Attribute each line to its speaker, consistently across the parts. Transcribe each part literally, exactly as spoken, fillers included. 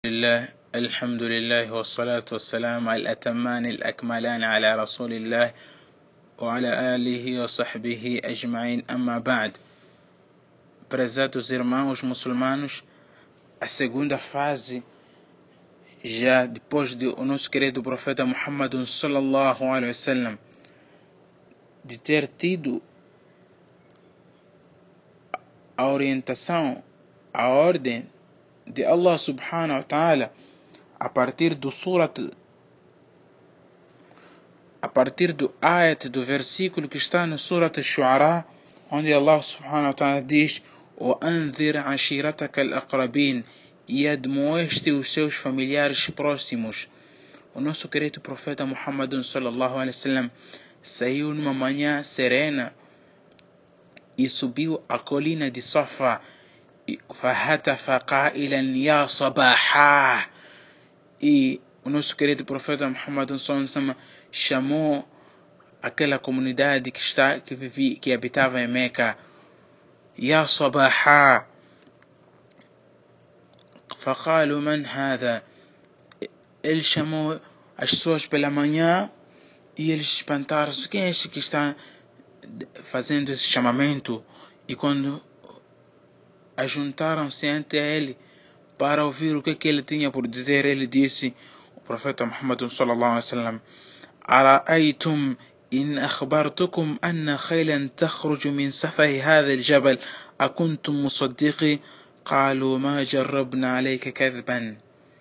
Speaker 1: لله الحمد لله والصلاة والسلام على الأتمان الأكملان على رسول الله وعلى آله وصحبه أجمعين. أما بعد, prezados irmãos muçulmanos, a segunda fase, já depois de o nosso querido profeta Muhammad sallallahu alaihi wasallam de ter tido a orientação, a ordem de Allah subhanahu wa ta'ala a partir do surat, a partir do ayat, do versículo que está no surat al-Shu'ara, onde Allah subhanahu wa ta'ala diz: وَأَنذِرْ عَشِيرَتَكَ الْأَقْرَبِينَ, e admoeste os seus familiares próximos. O nosso querido profeta Muhammad sallallahu alaihi wasallam saiu numa manhã serena e subiu a colina de Safa. فَهَتَفَ قَائِلًا يَا صَبَاحًا, e o nosso querido profeta Muhammad sallallahu alaihi wasallam chamou aquela comunidade que está que vivia, que habitava em Meca: يا صباحا. فقالوا من هذا, ele chamou as pessoas pela manhã e eles espantaram-se: quem é este que está fazendo esse chamamento? E quando ajuntaram-se ante ele para ouvir o que, que ele tinha por dizer, ele disse, o profeta Muhammad sallallahu alaihi wasallam: أرأيتم إن أخبرتكم أن خيلا تخرج من سفه هذا الجبل أكنتم مصدقي قالوا ما جربنا عليك كذبا.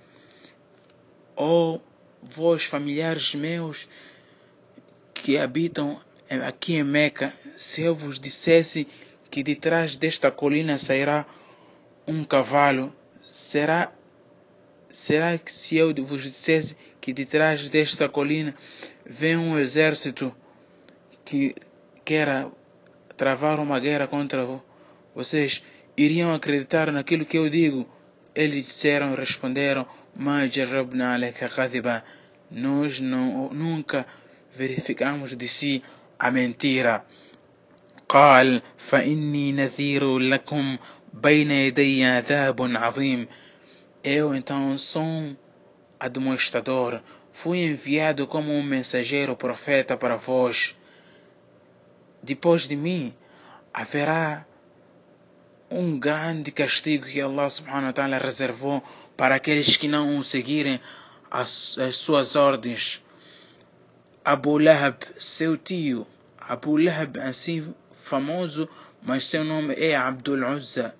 Speaker 1: Ó vós, familiares meus que habitam aqui em Meca, se eu vos dissesse que de trás desta colina sairá um cavalo, será será que se eu vos dissesse que de trás desta colina vem um exército que quer travar uma guerra contra vocês, iriam acreditar naquilo que eu digo? Eles disseram, responderam: ما جربنا عليك كذبا, nós não, nunca verificamos de si a mentira. قال فإني نذير لكم بين يدي عذاب عظيم, eu então sou um admoestador, fui enviado como um mensageiro profeta para vós. Depois de mim haverá um grande castigo que Allah subhanahu wa ta'ala reservou para aqueles que não seguirem as, as suas ordens. Abu Lahab, seu tio, Abu Lahab, assim famoso, mas seu nome é Abdul Uzza.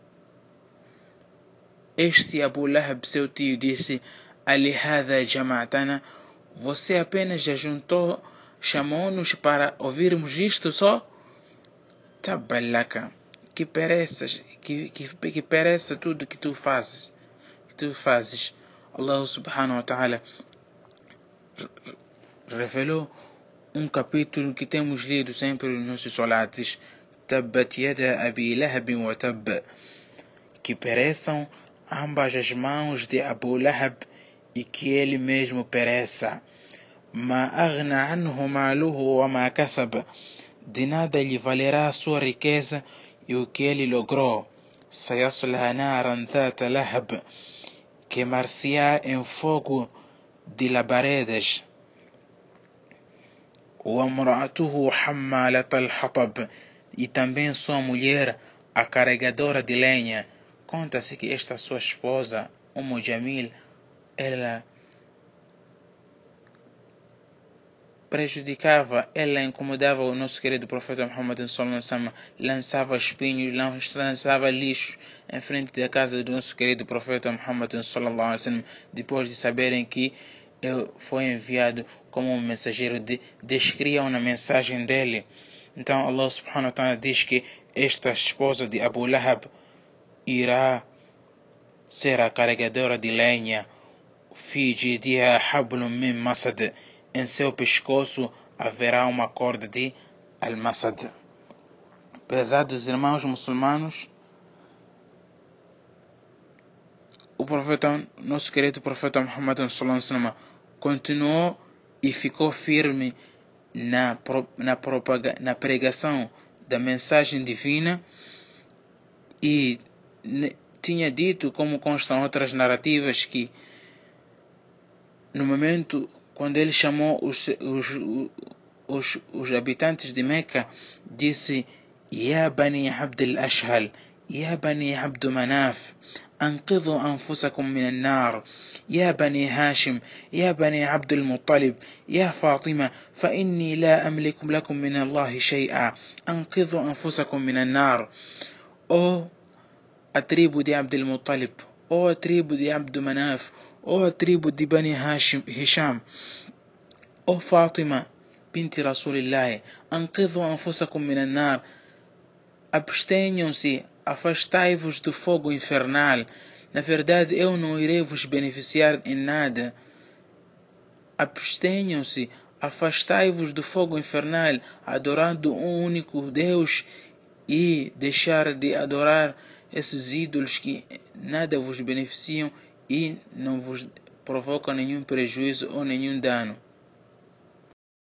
Speaker 1: Este Abu Lahab, seu tio, disse: alihada jama'tana, você apenas já juntou, chamou-nos para ouvirmos isto só? Tabalaka, que pereças, que, que, que pereça tudo que tu fazes, que tu fazes. Allah subhanahu wa ta'ala revelou um capítulo que temos lido sempre nos nossos salates: Tabbat yada Abi Lahab wa Tabb, que pereçam ambas as mãos de Abu Lahab e que ele mesmo pereça. Ma aghna anhu maluhu wa ma kasab, de nada lhe valerá a sua riqueza e o que ele logrou. Sayasla naran dhata lahab, queimar-se-á em fogo de labaredas. Wa amra'atuhu hammalat al-hatab, e também sua mulher, a carregadora de lenha. Conta-se que esta sua esposa, Umm Jamil, ela prejudicava, ela incomodava o nosso querido profeta Muhammad sallallahu alaihi wasallam, lançava espinhos, lançava lixo em frente da casa do nosso querido profeta Muhammad sallallahu alaihi wasallam, depois de saberem que eu foi enviado como um mensageiro, de, descriam na mensagem dele. Então Allah subhanahu wa ta'ala diz que esta esposa de Abu Lahab irá ser a carregadora de lenha. Fi jidiha hablum min masad, em seu pescoço haverá uma corda de al-masad. Pesados irmãos muçulmanos, o profeta, nosso querido profeta Muhammad sallallahu alaihi wasallam, continuou e ficou firme na, na, propaga, na pregação da mensagem divina, e tinha dito, como constam outras narrativas, que no momento quando ele chamou os, os, os, os habitantes de Meca, disse: Ya Bani Abd al-Ashhal, Ya Bani Abd Manaf, أنقذوا أنفسكم من النار يا بني هاشم يا بني عبد المطلب يا فاطمة فإني لا أملك لكم من الله شيئا أنقذوا أنفسكم من النار. Ó a tribo de Abd al-Muttalib, ó a tribo de Abd Manaf, ó a tribo de Bani Hashim, Hisham, ó Fátima, binti Rasulillah, أنقذوا أنفسكم من النار, abstenham-se, afastai-vos do fogo infernal, na verdade eu não irei vos beneficiar em nada. Abstenham-se, afastai-vos do fogo infernal, adorando um único Deus, e deixar de adorar esses ídolos que nada vos beneficiam e não vos provocam nenhum prejuízo ou nenhum dano.